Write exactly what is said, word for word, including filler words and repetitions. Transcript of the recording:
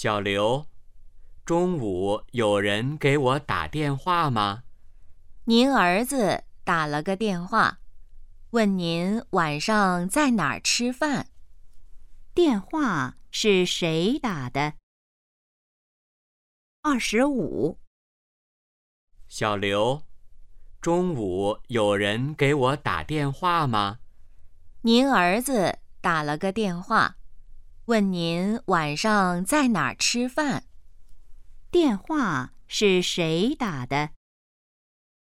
小刘，中午有人给我打电话吗？ 您儿子打了个电话，问您晚上在哪儿吃饭。电话是谁打的？二十五。 小刘，中午有人给我打电话吗？ 您儿子打了个电话，问您晚上在哪儿吃饭。电话是谁打的？